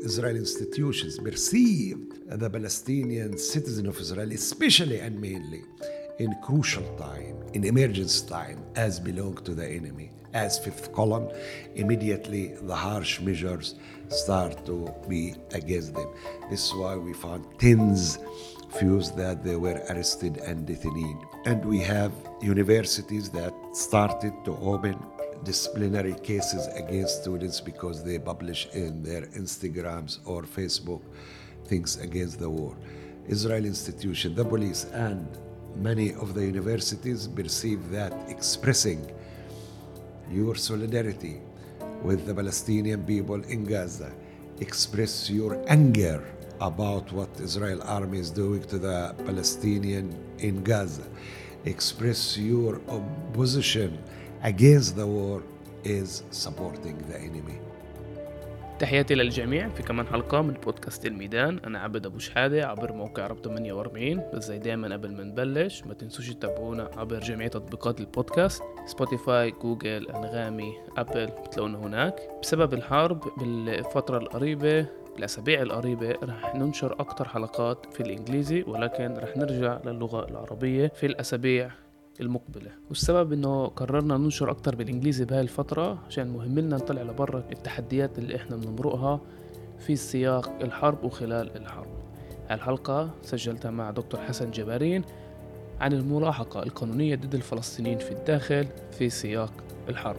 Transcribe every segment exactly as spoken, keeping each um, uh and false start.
Israeli institutions perceived the Palestinian citizen of Israel, especially and mainly in crucial time, in emergency time, as belong to the enemy, as fifth column. Immediately the harsh measures start to be against them. This is why we found tens few that they were arrested and detained. And we have universities that started to open disciplinary cases against students because they publish in their Instagrams or Facebook things against the war. Israeli institution, the police, and many of the universities perceive that expressing your solidarity with the Palestinian people in Gaza, express your anger about what Israel army is doing to the Palestinian in Gaza, express your opposition against the war, is supporting the enemy. تحياتي للجميع في كمان حلقة من بودكاست الميدان. أنا عبد أبو شحادة عبر موقع رب ثمانية وأربعين. بس زي دايما قبل ما نبلش ما تنسوش تتابعونا عبر جميع تطبيقات البودكاست، سبوتيفاي، جوجل، أنغامي، أبل، بتلاقونا هناك. بسبب الحرب بالفترة القريبة بالأسابيع القريبة رح ننشر أكتر حلقات في الإنجليزي، ولكن رح نرجع للغة العربية في الأسابيع المقبلة. والسبب انه قررنا ننشر اكتر بالانجليزي بهاي الفترة عشان مهم لنا نطلع لبرا التحديات اللي احنا بنمرقها في سياق الحرب وخلال الحرب. الحلقة سجلتها مع دكتور حسن جبارين عن الملاحقة القانونية ضد الفلسطينيين في الداخل في سياق الحرب.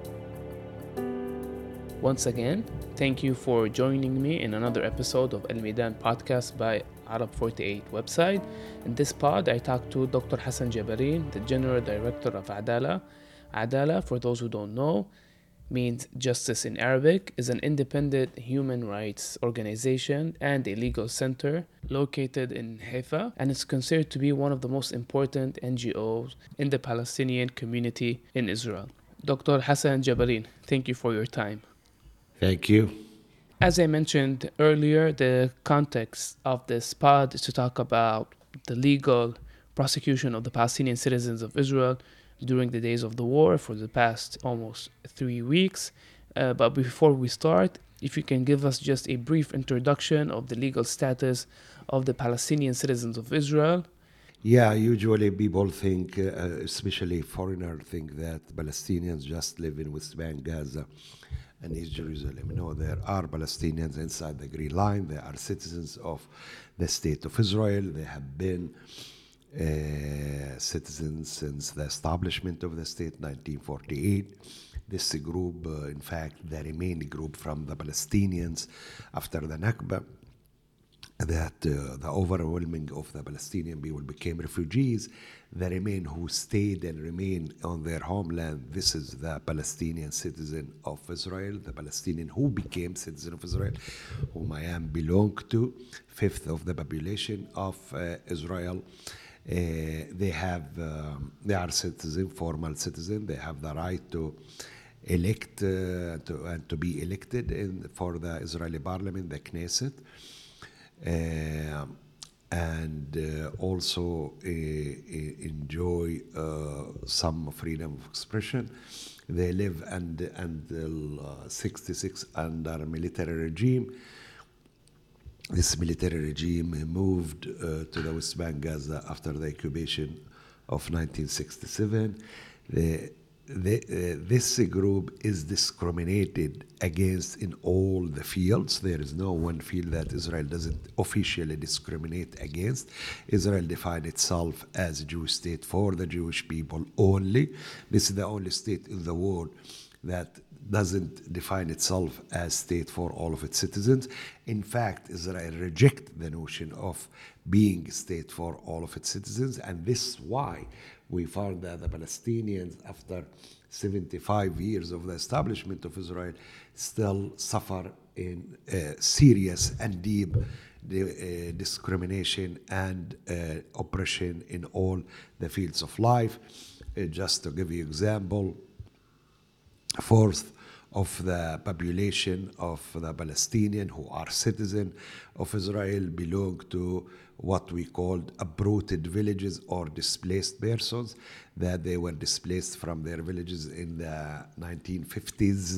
Once again, thank you for joining me in another episode of Al Midan podcast by Arab forty-eight website. In this pod, I talked to Doctor Hassan Jabarin, the General Director of Adala. Adala, for those who don't know, means justice in Arabic, is an independent human rights organization and a legal center located in Haifa, and is considered to be one of the most important N G Os in the Palestinian community in Israel. Doctor Hassan Jabarin, thank you for your time. Thank you. As I mentioned earlier, the context of this pod is to talk about the legal prosecution of the Palestinian citizens of Israel during the days of the war for the past almost three weeks. Uh, but before we start, if you can give us just a brief introduction of the legal status of the Palestinian citizens of Israel. Yeah, usually people think, uh, especially foreigners, think that Palestinians just live in West Bank, Gaza, and East Jerusalem. No, there are Palestinians inside the Green Line. They are citizens of the State of Israel. They have been uh, citizens since the establishment of the state, nineteen forty-eight. This group, uh, in fact, the remaining group from the Palestinians after the Nakba, that uh, the overwhelming of the Palestinian people became refugees. The remain who stayed and remain on their homeland, this is the Palestinian citizen of Israel, the Palestinian who became citizen of Israel, whom I am belong to, fifth of the population of uh, Israel. Uh, they have, um, they are citizen, formal citizen. They have the right to elect uh, to, and to be elected in, for the Israeli parliament, the Knesset. Uh, and uh, also uh, uh, enjoy uh, some freedom of expression. They live and, until uh, sixty-six under a military regime. This military regime moved uh, to the West Bank, Gaza after the occupation of nineteen sixty-seven. The The, uh, this group is discriminated against in all the fields. There is no one field that Israel doesn't officially discriminate against. Israel defined itself as a Jewish state for the Jewish people only. This is the only state in the world that doesn't define itself as state for all of its citizens. In fact, Israel rejects the notion of being a state for all of its citizens, and this is why we found that the Palestinians, after seventy-five years of the establishment of Israel, still suffer in uh, serious and deep the, uh, discrimination and uh, oppression in all the fields of life. Uh, just to give you an example, fourth of the population of the Palestinian who are citizens of Israel belong to what we called uprooted villages or displaced persons, that they were displaced from their villages in the nineteen fifties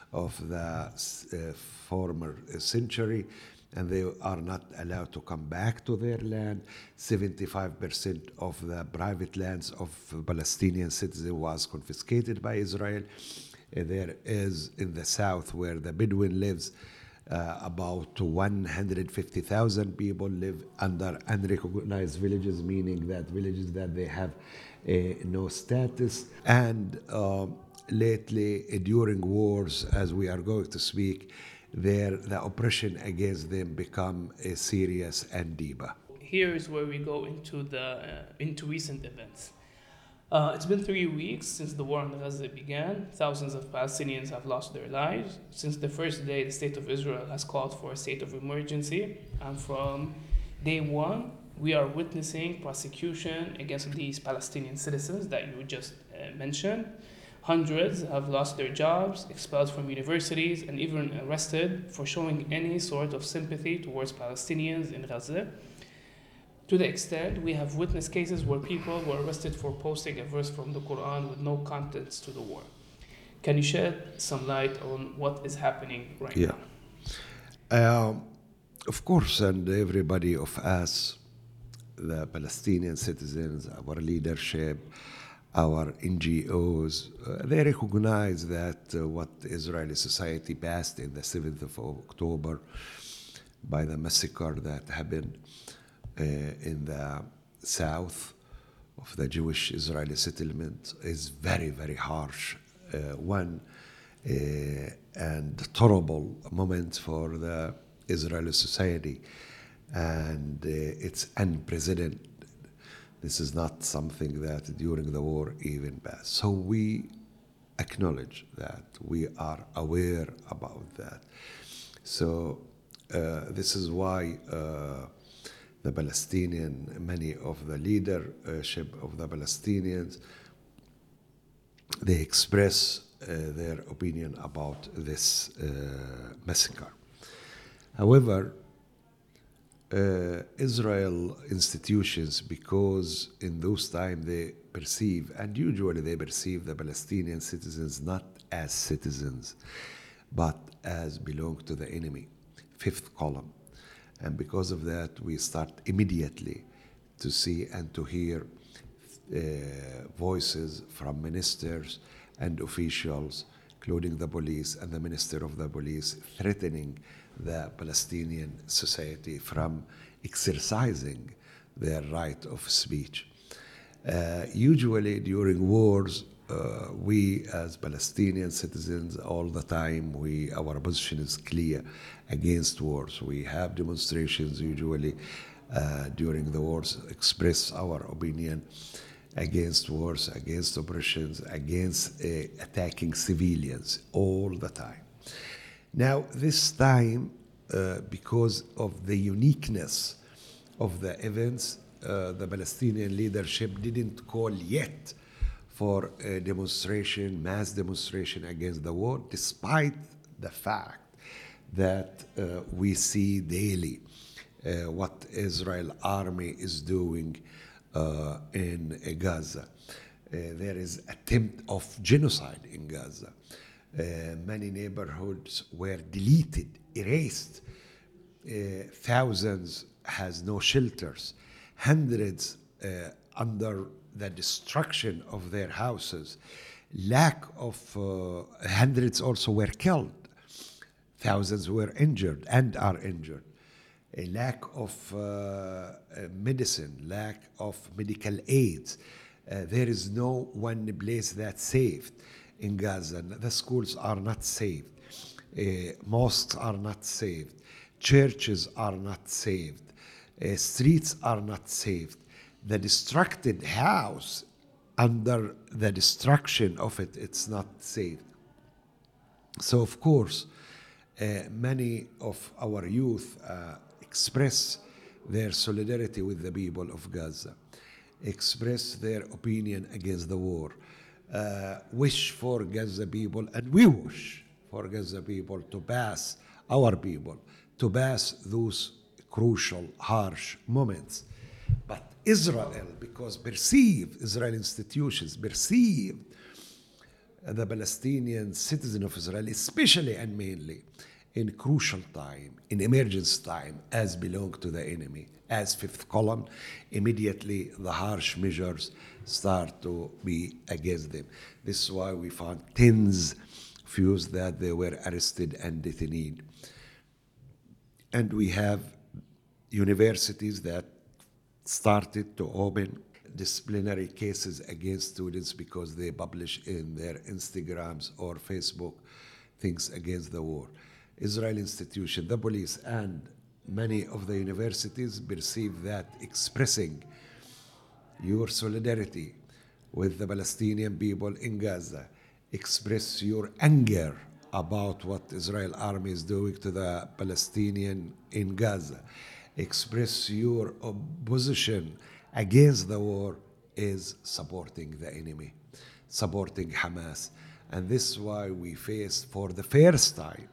of the uh, former century, and they are not allowed to come back to their land. seventy-five percent of the private lands of Palestinian citizens was confiscated by Israel. Uh, there is in the south where the Bedouin lives, uh, about one hundred fifty thousand people live under unrecognized villages, meaning that villages that they have uh, no status. And uh, lately, uh, during wars, as we are going to speak, there the oppression against them become uh, serious and deeper. Here is where we go into the uh, into recent events. Uh, it's been three weeks since the war in Gaza began. Thousands of Palestinians have lost their lives. Since the first day, the State of Israel has called for a state of emergency. And from day one, we are witnessing prosecution against these Palestinian citizens that you just uh, mentioned. Hundreds have lost their jobs, expelled from universities, and even arrested for showing any sort of sympathy towards Palestinians in Gaza. To the extent we have witnessed cases where people were arrested for posting a verse from the Quran with no context to the war. Can you shed some light on what is happening right yeah. now? Um, of course, and everybody of us, the Palestinian citizens, our leadership, our N G Os, uh, they recognize that uh, what Israeli society passed in the seventh of October by the massacre that happened Uh, in the south of the Jewish Israeli settlement is very, very harsh. Uh, one uh, and terrible moment for the Israeli society. And uh, it's unprecedented. This is not something that during the war even passed. So we acknowledge that. We are aware about that. So uh, this is why uh, the Palestinian, many of the leadership of the Palestinians, they express uh, their opinion about this uh, massacre. However, uh, Israel institutions, because in those times they perceive, and usually they perceive the Palestinian citizens not as citizens, but as belong to the enemy, fifth column. And because of that, we start immediately to see and to hear uh, voices from ministers and officials, including the police and the minister of the police, threatening the Palestinian society from exercising their right of speech. Uh, usually during wars, Uh, we as Palestinian citizens all the time, we our position is clear against wars. We have demonstrations usually uh, during the wars, express our opinion against wars, against oppressions, against uh, attacking civilians all the time. Now this time, uh, because of the uniqueness of the events, uh, the Palestinian leadership didn't call yet for a demonstration, mass demonstration against the war, despite the fact that uh, we see daily uh, what Israel army is doing uh, in uh, Gaza. Uh, there is attempt of genocide in Gaza. Uh, many neighborhoods were deleted, erased. Uh, thousands has no shelters. Hundreds uh, under the destruction of their houses, lack of uh, hundreds also were killed, thousands were injured and are injured, a lack of uh, medicine, lack of medical aids. Uh, there is no one place that's saved in Gaza. The schools are not saved, uh, mosques are not saved, churches are not saved, uh, streets are not saved. The destructed house, under the destruction of it, it's not saved. So, of course, uh, many of our youth uh, express their solidarity with the people of Gaza, express their opinion against the war, uh, wish for Gaza people, and we wish for Gaza people to pass, our people, to pass those crucial, harsh moments. But Israel, because perceived, Israeli institutions perceived the Palestinian citizen of Israel, especially and mainly in crucial time, in emergency time, as belong to the enemy, as fifth column, immediately the harsh measures start to be against them. This is why we found tens of youths that they were arrested and detained. And we have universities that started to open disciplinary cases against students because they publish in their Instagrams or Facebook things against the war. Israel institution, the police, and many of the universities perceive that expressing your solidarity with the Palestinian people in Gaza, express your anger about what Israel army is doing to the Palestinian in Gaza, express your opposition against the war is supporting the enemy, supporting Hamas. And this is why we face for the first time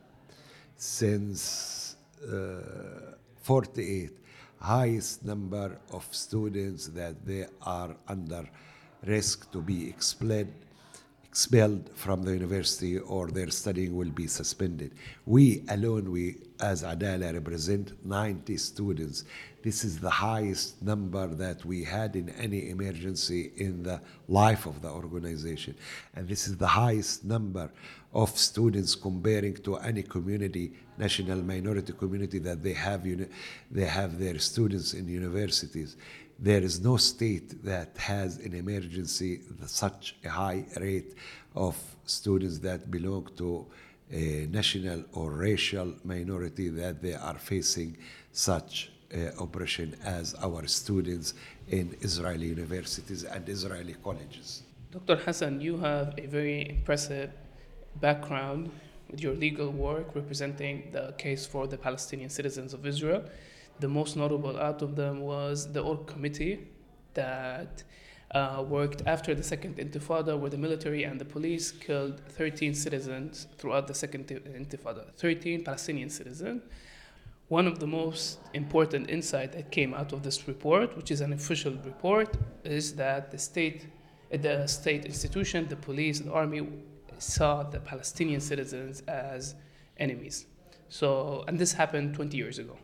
since uh, forty-eight, highest number of students that they are under risk to be expelled, expelled from the university, or their studying will be suspended. We alone, we as Adala represent ninety students. This is the highest number that we had in any emergency in the life of the organization. And this is the highest number of students comparing to any community, national minority community that they have, uni- they have their students in universities. There is no state that has an emergency such a high rate of students that belong to a national or racial minority that they are facing such uh, oppression as our students in Israeli universities and Israeli colleges. Doctor Hassan, you have a very impressive background with your legal work representing the case for the Palestinian citizens of Israel. The most notable out of them was the Org Committee that uh, worked after the Second Intifada, where the military and the police killed thirteen citizens throughout the Second Intifada, thirteen Palestinian citizens. One of the most important insights that came out of this report, which is an official report, is that the state, the state institution, the police, the army, saw the Palestinian citizens as enemies. So, and this happened twenty years ago.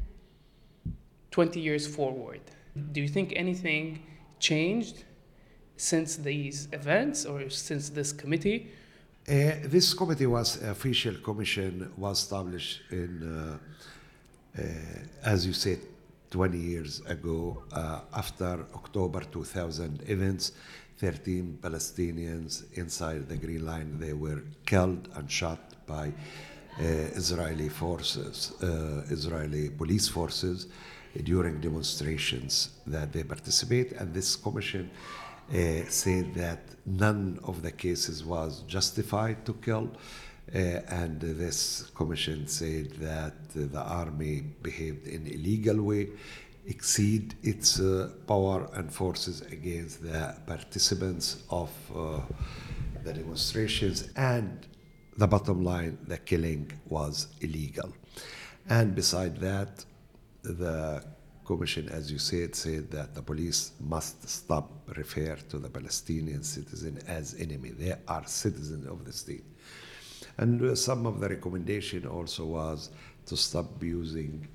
twenty years forward. Do you think anything changed since these events or since this committee? Uh, this committee was, official commission was established in, uh, uh, as you said, twenty years ago, uh, after October two thousand events. thirteen Palestinians inside the Green Line, they were killed and shot by uh, Israeli forces, uh, Israeli police forces during demonstrations that they participate. And this commission uh, said that none of the cases was justified to kill. Uh, and this commission said that uh, the army behaved in illegal way, exceed its uh, power and forces against the participants of uh, the demonstrations, and the bottom line, the killing was illegal. And beside that, the commission, as you said, said that the police must stop refer to the Palestinian citizen as enemy. They are citizens of the state. And uh, some of the recommendation also was to stop using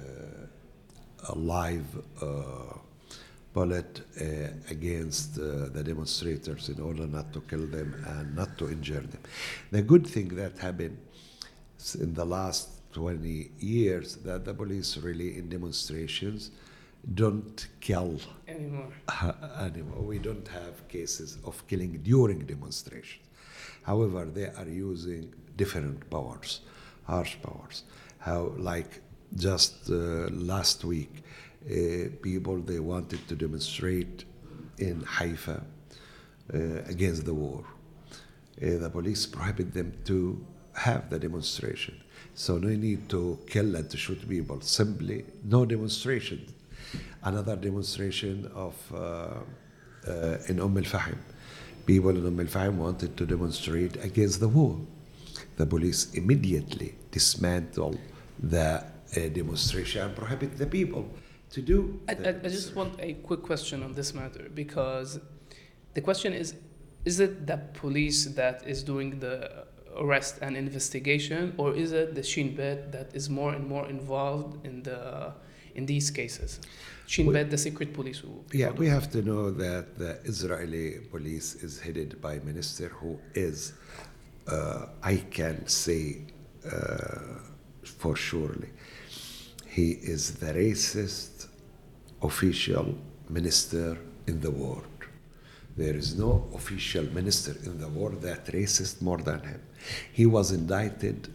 uh, a live uh, bullet uh, against uh, the demonstrators in order not to kill them and not to injure them. The good thing that happened in the last twenty years, that the police really in demonstrations don't kill Anymore. anymore. We don't have cases of killing during demonstrations. However, they are using different powers, harsh powers. How, like just uh, last week, uh, people, they wanted to demonstrate in Haifa uh, against the war. Uh, the police prohibited them to have the demonstration. So no need to kill and to shoot people, simply no demonstration. Another demonstration of uh, uh, in Umm al-Fahim. People in Umm al-Fahim wanted to demonstrate against the war. The police immediately dismantled the uh, demonstration and prohibited the people to do. I, I, I just want a quick question on this matter, because the question is, is it the police that is doing the arrest and investigation, or is it the Shin Bet that is more and more involved in the in these cases? Shin Bet, the secret police. who- Yeah, we have to know that the Israeli police is headed by a minister who is, uh, I can say uh, for surely, he is the racist official minister in the world. There is no official minister in the world that racist more than him. He was indicted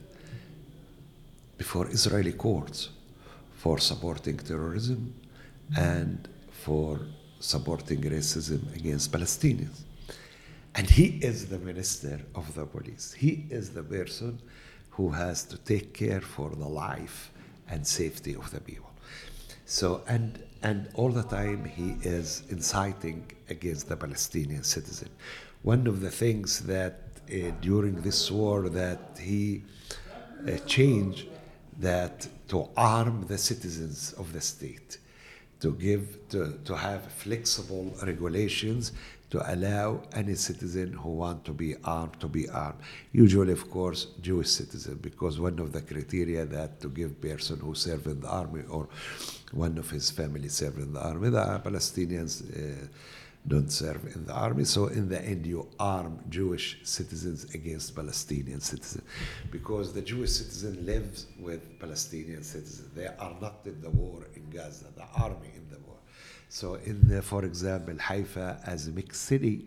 before Israeli courts for supporting terrorism and for supporting racism against Palestinians. And he is the minister of the police. He is the person who has to take care for the life and safety of the people. So, and and all the time he is inciting against the Palestinian citizen. One of the things that uh, during this war that he uh, changed, that to arm the citizens of the state, to give, to, to have flexible regulations to allow any citizen who want to be armed to be armed. Usually, of course, Jewish citizen, because one of the criteria that to give person who serve in the army or one of his family serve in the army, the Palestinians uh, don't serve in the army. So in the end, you arm Jewish citizens against Palestinian citizens, because the Jewish citizen lives with Palestinian citizens. They are not in the war in Gaza, the army in the war. So in the, for example, Haifa as a mixed city,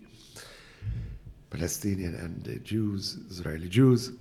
Palestinian and uh, Jews, Israeli Jews,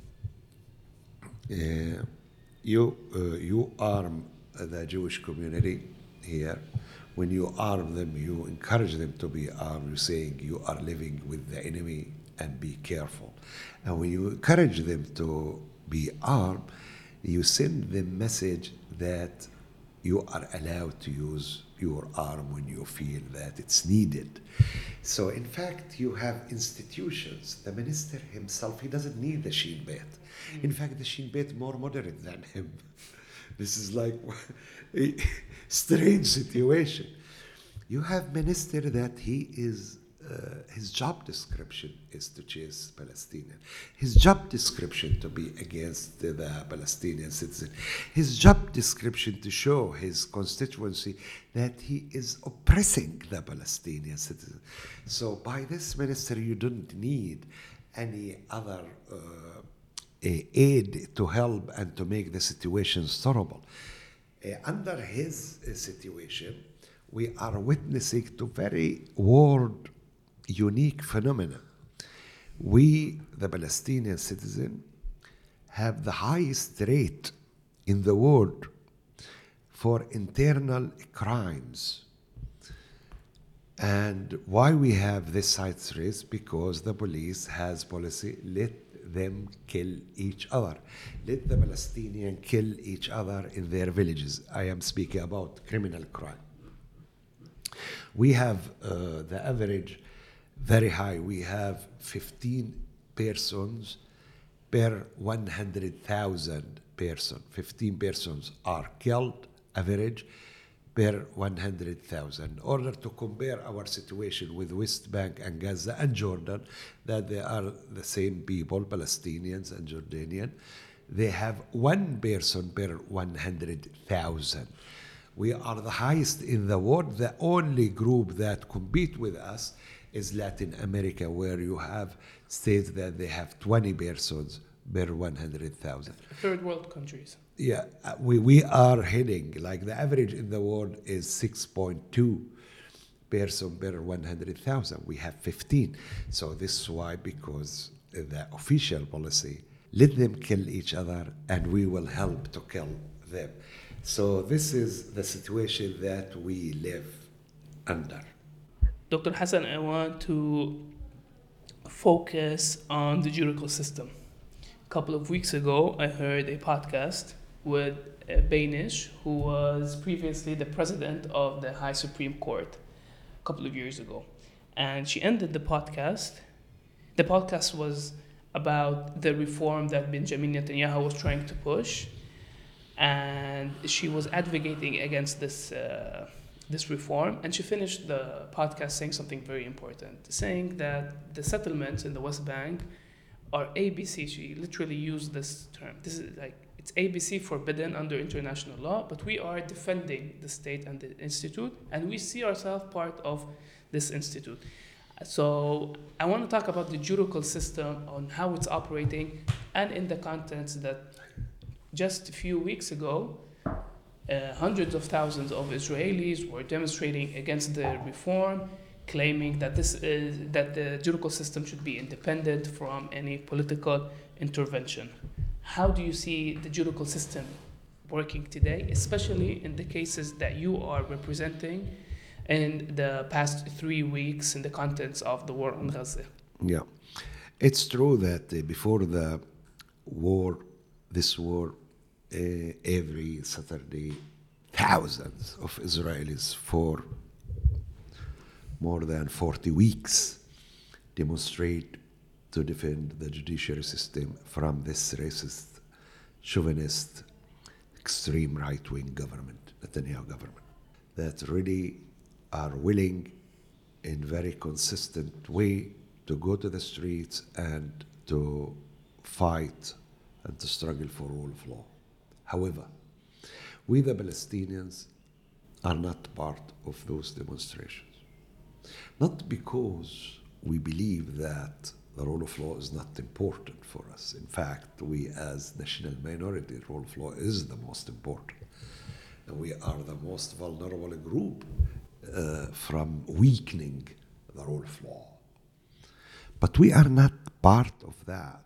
uh, you, uh, you arm the Jewish community here. When you arm them, you encourage them to be armed. You're saying you are living with the enemy and be careful. And when you encourage them to be armed, you send them message that you are allowed to use your arm when you feel that it's needed. So in fact, you have institutions. The minister himself, he doesn't need the Shin Bet. In fact, the Shin Bet more moderate than him. This is like a strange situation. You have minister that he is, uh, his job description is to chase Palestinian. His job description to be against the, the Palestinian citizen. His job description to show his constituency that he is oppressing the Palestinian citizen. So by this minister, you don't need any other uh, aid to help and to make the situation tolerable. Uh, under his uh, situation, we are witnessing to very world unique phenomena. We, the Palestinian citizen, have the highest rate in the world for internal crimes. And why we have this highest rate? Because the police has policy, let them kill each other. Let the Palestinians kill each other in their villages. I am speaking about criminal crime. We have uh, the average very high. We have fifteen persons per one hundred thousand person. fifteen persons are killed, average, per one hundred thousand. In order to compare our situation with West Bank and Gaza and Jordan, that they are the same people, Palestinians and Jordanian, they have one person per one hundred thousand. We are the highest in the world. The only group that compete with us is Latin America, where you have states that they have twenty persons per one hundred thousand. Third world countries. Yeah, uh, we, we are heading, like the average in the world is six point two person per one hundred thousand. We have fifteen. So this is why, because the official policy, let them kill each other and we will help to kill them. So this is the situation that we live under. Doctor Hassan, I want to focus on the judicial system. A couple of weeks ago, I heard a podcast with uh, Bainish, who was previously the president of the High Supreme Court a couple of years ago. And she ended the podcast. The podcast was about the reform that Benjamin Netanyahu was trying to push. And she was advocating against this uh, this reform, and she finished the podcast saying something very important, saying that the settlements in the West Bank are A B C. She literally used this term. This is like, it's A B C, forbidden under international law, but we are defending the state and the institute, and we see ourselves part of this institute. So I want to talk about the judicial system, on how it's operating, and in the context that just a few weeks ago, uh, hundreds of thousands of Israelis were demonstrating against the reform, claiming that this is, that the judicial system should be independent from any political intervention. How do you see the judicial system working today, especially in the cases that you are representing in the past three weeks in the contents of the war on Gaza? Yeah, it's true that uh, before the war, this war, uh, every Saturday, thousands of Israelis for more than forty weeks demonstrate to defend the judiciary system from this racist, chauvinist, extreme right-wing government, Netanyahu government, that really are willing in very consistent way to go to the streets and to fight and to struggle for rule of law. However, we the Palestinians are not part of those demonstrations. Not because we believe that the rule of law is not important for us. In fact, we as national minority, rule of law is the most important. And we are the most vulnerable group uh, from weakening the rule of law. But we are not part of that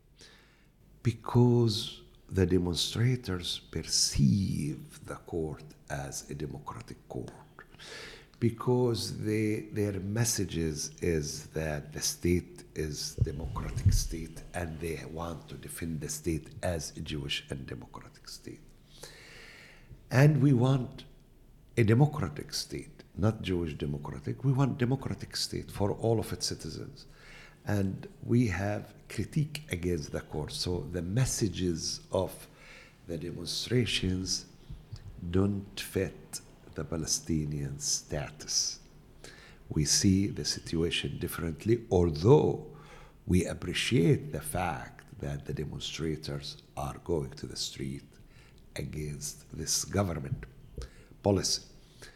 because the demonstrators perceive the court as a democratic court, because they, their messages is that the state is democratic state and they want to defend the state as a Jewish and democratic state. And we want a democratic state, not Jewish democratic. We want democratic state for all of its citizens. And we have critique against the court. So the messages of the demonstrations don't fit the Palestinian status. We see the situation differently, although we appreciate the fact that the demonstrators are going to the street against this government policy.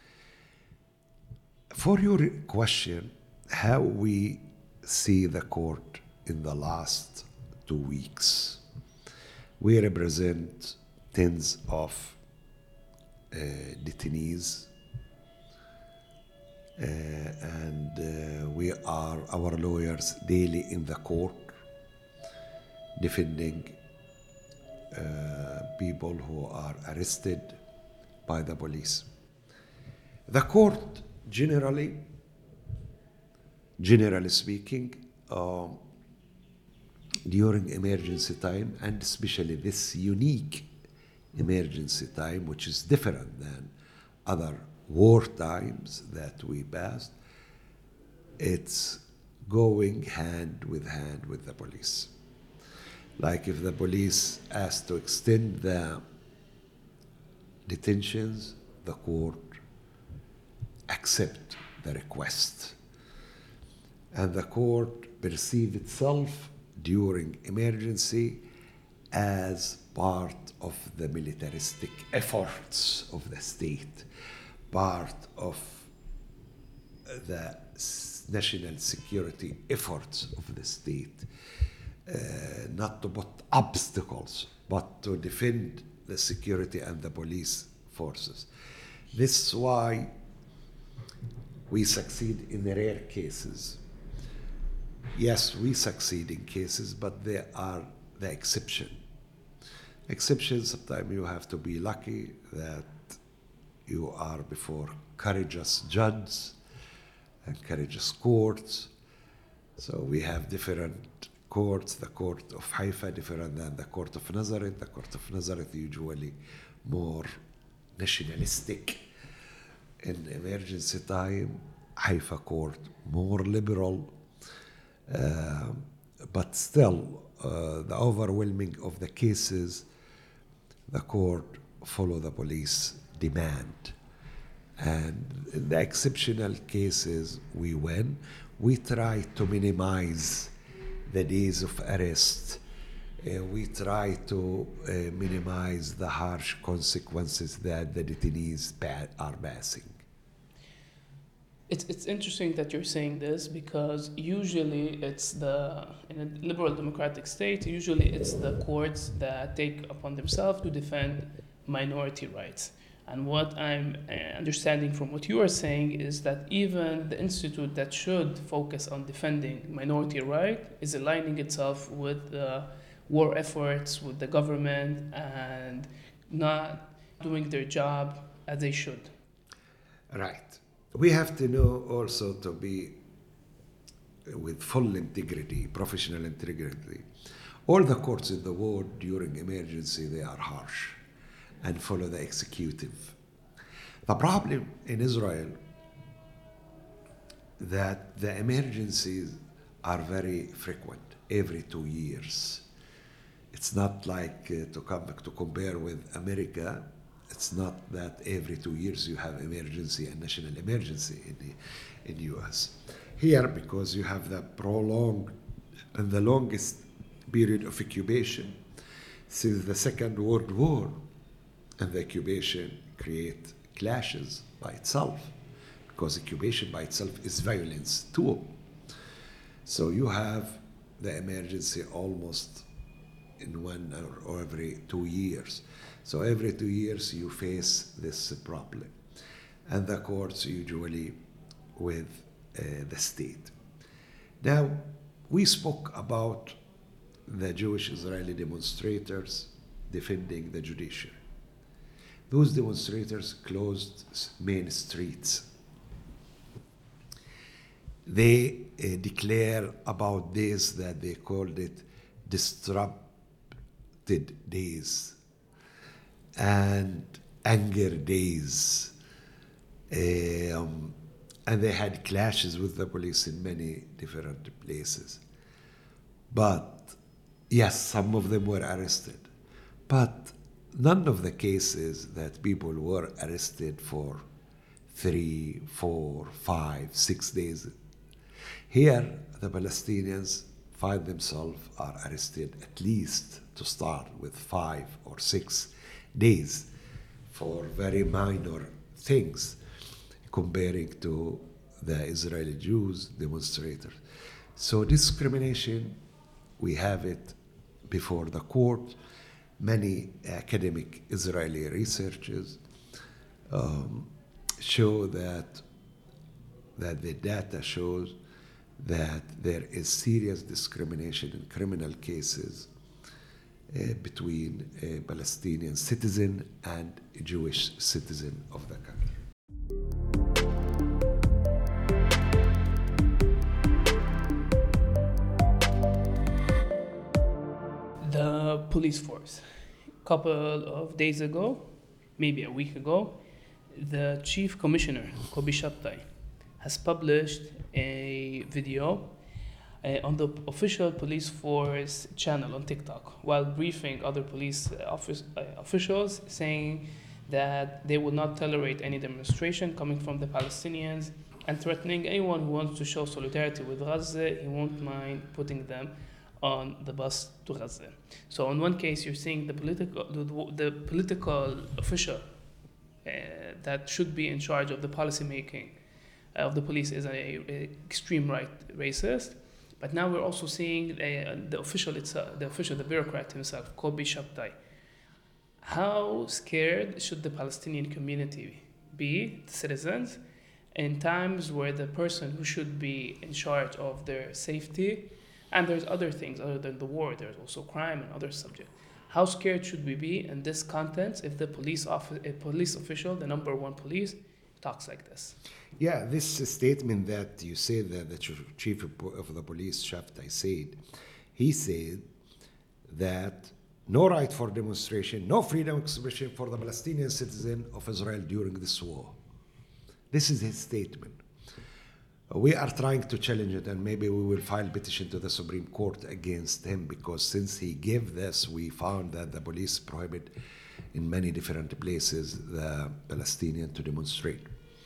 For your question, how we see the court in the last two weeks, we represent tens of uh, detainees, uh, and uh, we are, our lawyers daily in the court defending uh, people who are arrested by the police. The court generally, generally speaking, uh, during emergency time, and especially this unique emergency time, which is different than other war times that we passed, it's going hand with hand with the police. Like if the police asked to extend the detentions, the court accept the request. And the court perceive itself during emergency as part of the militaristic efforts of the state, part of the national security efforts of the state, uh, not to put obstacles, but to defend the security and the police forces. This is why we succeed in rare cases. Yes, we succeed in cases, but they are the exception. Exceptions, sometimes you have to be lucky that you are before courageous judges and courageous courts. So we have different courts. The court of Haifa different than the court of Nazareth. The court of Nazareth usually more nationalistic. In emergency time, Haifa court more liberal. Uh, but still, uh, the overwhelming of the cases, the court follow the police demand. And in the exceptional cases we win, we try to minimize the days of arrest. Uh, we try to uh, minimize the harsh consequences that the detainees pa- are passing. It's it's interesting that you're saying this because usually it's the in a liberal democratic state usually it's the courts that take upon themselves to defend minority rights. And what I'm uh, understanding from what you are saying is that even the institute that should focus on defending minority right is aligning itself with the war efforts, with the government, and not doing their job as they should. Right. We have to know also to be with full integrity, professional integrity. All the courts in the world during emergency, they are harsh and follow the executive. The problem in Israel that the emergencies are very frequent, every two years. It's not like uh, to come to compare with America. It's not that every two years you have emergency and national emergency in the in U S. Here, because you have the prolonged and the longest period of occupation since the Second World War, and the occupation create clashes by itself, because occupation by itself is violence too. So you have the emergency almost in one or, or every two years. So every two years you face this problem. And the courts usually with uh, the state. Now, we spoke about the Jewish Israeli demonstrators defending the judiciary. Those demonstrators closed main streets. They uh, declare about days that they called it disrupted days and anger days. Um, and they had clashes with the police in many different places. But yes, some of them were arrested. But none of the cases that people were arrested for three, four, five, six days. Here, the Palestinians find themselves are arrested at least to start with five or six days for very minor things, comparing to the Israeli Jews demonstrators. So discrimination, we have it before the court. Many academic Israeli researchers um, show that that the data shows that there is serious discrimination in criminal cases uh, between a Palestinian citizen and a Jewish citizen of the country. The police force. A couple of days ago, maybe a week ago, the chief commissioner, Kobi Shabtai, has published a video uh, on the official police force channel on TikTok while briefing other police office, uh, officials, saying that they will not tolerate any demonstration coming from the Palestinians and threatening anyone who wants to show solidarity with Gaza, he won't mind putting them on the bus to Gaza. So in one case, you're seeing the political, the, the political official uh, that should be in charge of the policy making of the police is a, a extreme right racist. But now we're also seeing uh, the official itself, the official, the bureaucrat himself, Kobi Shabtai. How scared should the Palestinian community be, the citizens, in times where the person who should be in charge of their safety, and there's other things other than the war, there's also crime and other subjects. How scared should we be in this context if the police office, a police official, the number one police, talks like this? Yeah, this statement that you said that the chief of the police, Shabtai, said, he said that no right for demonstration, no freedom of expression for the Palestinian citizen of Israel during this war. This is his statement. We are trying to challenge it, and maybe we will file petition to the Supreme Court against him, because since he gave this, we found that the police prohibit in many different places the Palestinian to demonstrate.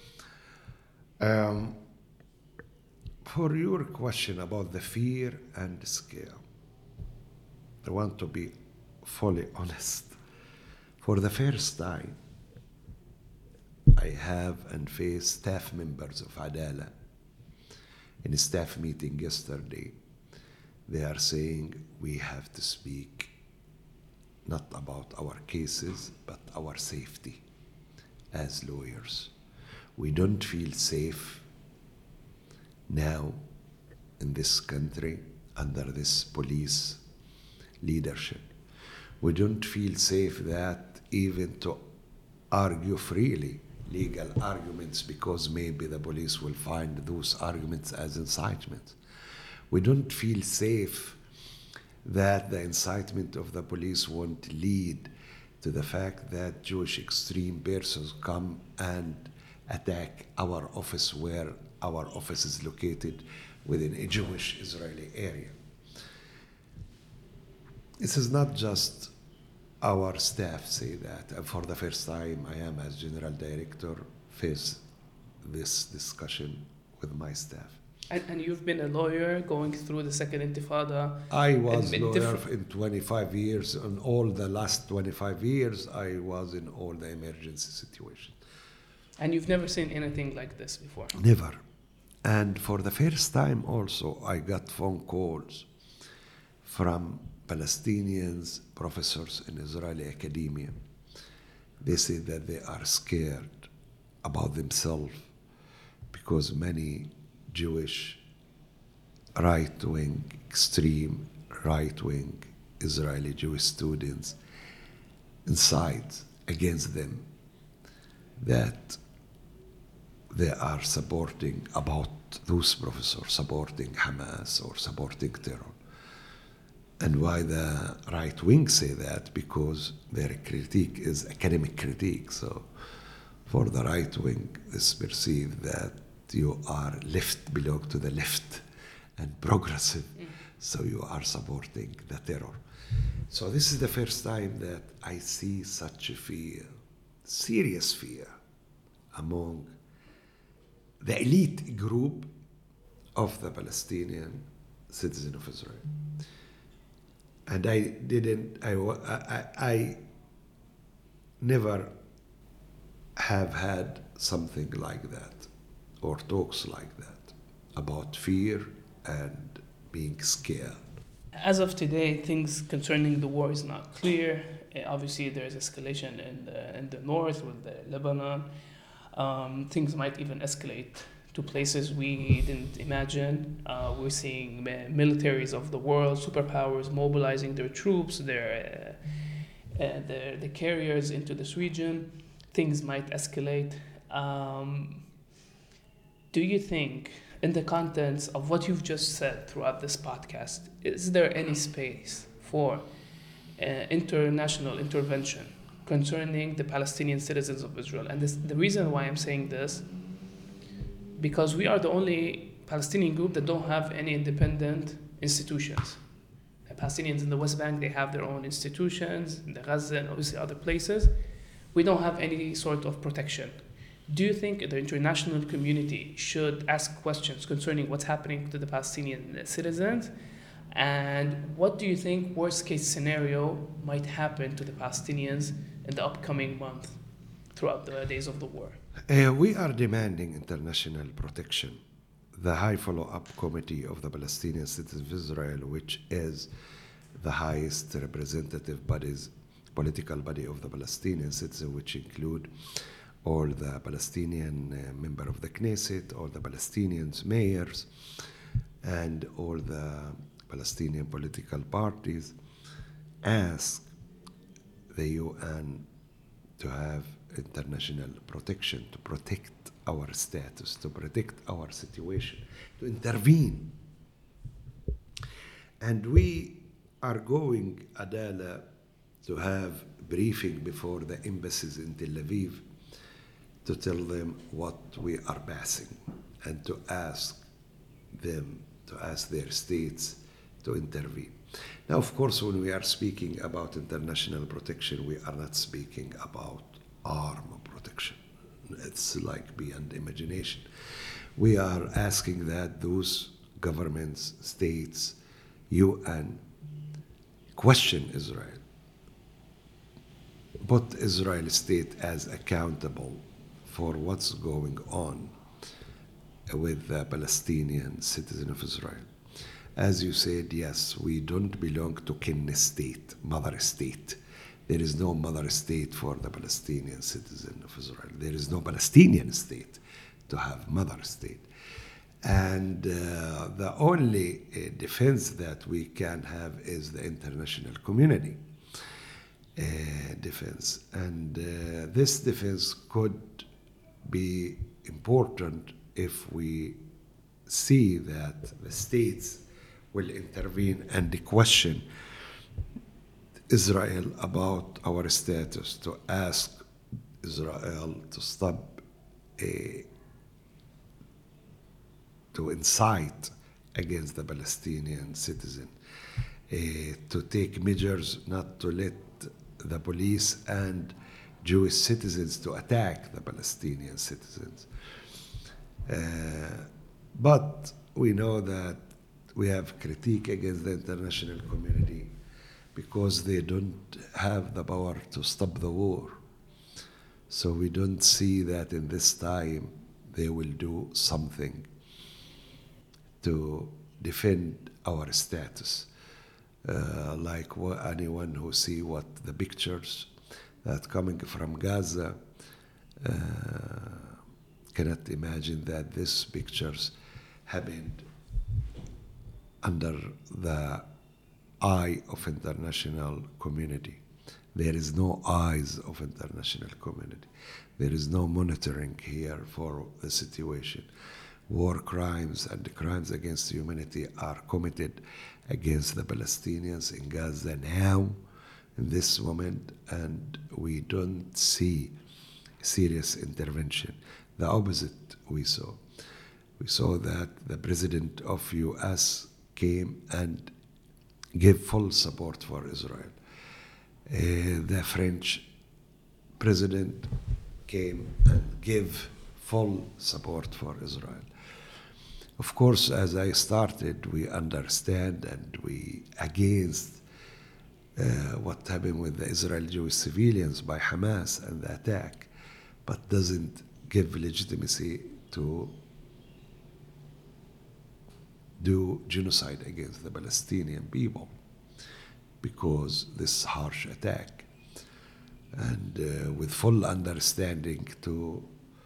Um, for your question about the fear and scare, I want to be fully honest. For the first time, I have and face staff members of Adala in a staff meeting yesterday. They are saying we have to speak not about our cases, but our safety as lawyers. We don't feel safe now in this country under this police leadership. We don't feel safe that even to argue freely legal arguments, because maybe the police will find those arguments as incitement. We don't feel safe that the incitement of the police won't lead to the fact that Jewish extreme persons come and attack our office where our office is located within a Jewish Israeli area. This is not just our staff say that. And for the first time, I am, as general director, face this discussion with my staff. And, and you've been a lawyer going through the Second Intifada. I was in lawyer different- in twenty-five years. In all the last twenty-five years, I was in all the emergency situations. And you've never seen anything like this before. Never. And for the first time also, I got phone calls from Palestinians, professors in Israeli academia. They say that they are scared about themselves because many Jewish right-wing, extreme right-wing Israeli Jewish students incite against them that they are supporting, about those professors supporting Hamas or supporting terror. And why the right wing say that? Because their critique is academic critique. So for the right wing, it's perceived that you are left, belong to the left and progressive. Mm. So you are supporting the terror. So this is the first time that I see such a fear, serious fear, among the elite group of the Palestinian citizen of Israel. And I didn't, I, I, I never have had something like that or talks like that about fear and being scared. As of today, things concerning the war is not clear. Uh, obviously, there's escalation in the, in the north with the Lebanon. Um, things might even escalate to places we didn't imagine. Uh, we're seeing militaries of the world, superpowers, mobilizing their troops, their, uh, uh, their the carriers into this region. Things might escalate. Um, do you think, in the contents of what you've just said throughout this podcast, is there any space for uh, international intervention concerning the Palestinian citizens of Israel? And this, the reason why I'm saying this, because we are the only Palestinian group that don't have any independent institutions. The Palestinians in the West Bank, they have their own institutions, in the Gaza and obviously other places. We don't have any sort of protection. Do you think the international community should ask questions concerning what's happening to the Palestinian citizens? And what do you think worst case scenario might happen to the Palestinians in the upcoming month throughout the days of the war? Uh, we are demanding international protection. The High Follow-Up Committee of the Palestinian Citizens of Israel, which is the highest representative bodies, political body of the Palestinian citizens, which include all the Palestinian uh, member of the Knesset, all the Palestinians mayors, and all the Palestinian political parties, ask the U N to have international protection, to protect our status, to protect our situation, to intervene. And we are going, Adala, to have briefing before the embassies in Tel Aviv to tell them what we are passing and to ask them, to ask their states to intervene. Now, of course, when we are speaking about international protection, we are not speaking about arm protection. It's like beyond imagination. we are asking that those governments, states, U N, question Israel. Put Israel state as accountable for what's going on with the Palestinian citizen of Israel. As you said, yes, we don't belong to kin state, mother state. There is no mother state for the Palestinian citizen of Israel. There is no Palestinian state to have mother state. And uh, the only uh, defense that we can have is the international community uh, defense. And uh, this defense could be important if we see that the states will intervene and question Israel about our status, to ask Israel to stop a, to incite against the Palestinian citizen, uh, to take measures not to let the police and Jewish citizens to attack the Palestinian citizens. Uh, but we know that we have critique against the international community because they don't have the power to stop the war. So we don't see that in this time they will do something to defend our status. Uh, like wh- anyone who see what the pictures that coming from Gaza uh, cannot imagine that these pictures happened under the eye of international community. There is no eyes of international community. There is no monitoring here for the situation. War crimes and crimes against humanity are committed against the Palestinians in Gaza now, in this moment, and we don't see serious intervention. The opposite we saw. We saw that the president of U S came and gave full support for Israel. Uh, the French president came and gave full support for Israel. Of course, as I started, we understand and we against uh, what happened with the Israeli Jewish civilians by Hamas and the attack, but doesn't give legitimacy to do genocide against the Palestinian people because this harsh attack, and uh, with full understanding to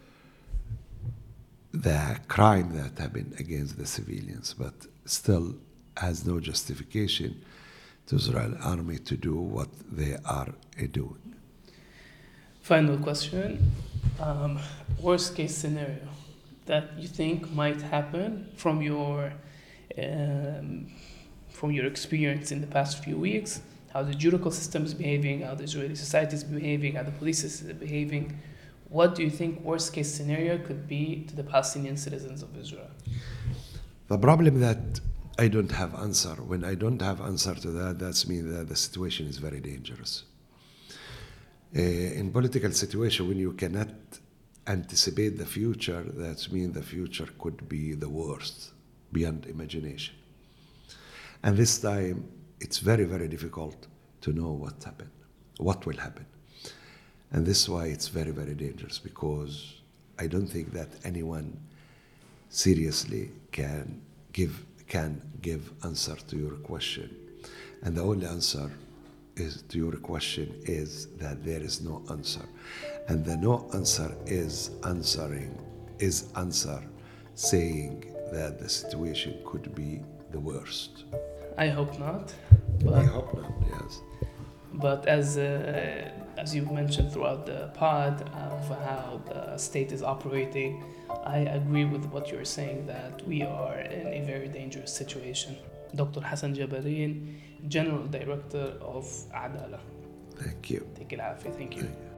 the crime that happened against the civilians, but still has no justification to Israel army to do what they are uh, doing. Final question. Um, worst case scenario that you think might happen from your um, from your experience in the past few weeks, how the judicial system is behaving, how the Israeli society is behaving, how the police is behaving. What do you think worst case scenario could be to the Palestinian citizens of Israel? The problem that I don't have answer. When I don't have answer to that, that's mean that the situation is very dangerous. Uh, in political situation, when you cannot anticipate the future, that means the future could be the worst, beyond imagination. And this time, it's very, very difficult to know what happened, what will happen. And this is why it's very, very dangerous, because I don't think that anyone seriously can give can give answer to your question. And the only answer is to your question is that there is no answer. And the no answer is answering, is answer saying that the situation could be the worst. I hope not. But I hope not, yes. But as uh, as you've mentioned throughout the pod of how the state is operating, I agree with what you're saying, that we are in a very dangerous situation. Doctor Hassan Jabarin, General Director of Adala. Thank you. Thank you. Thank you.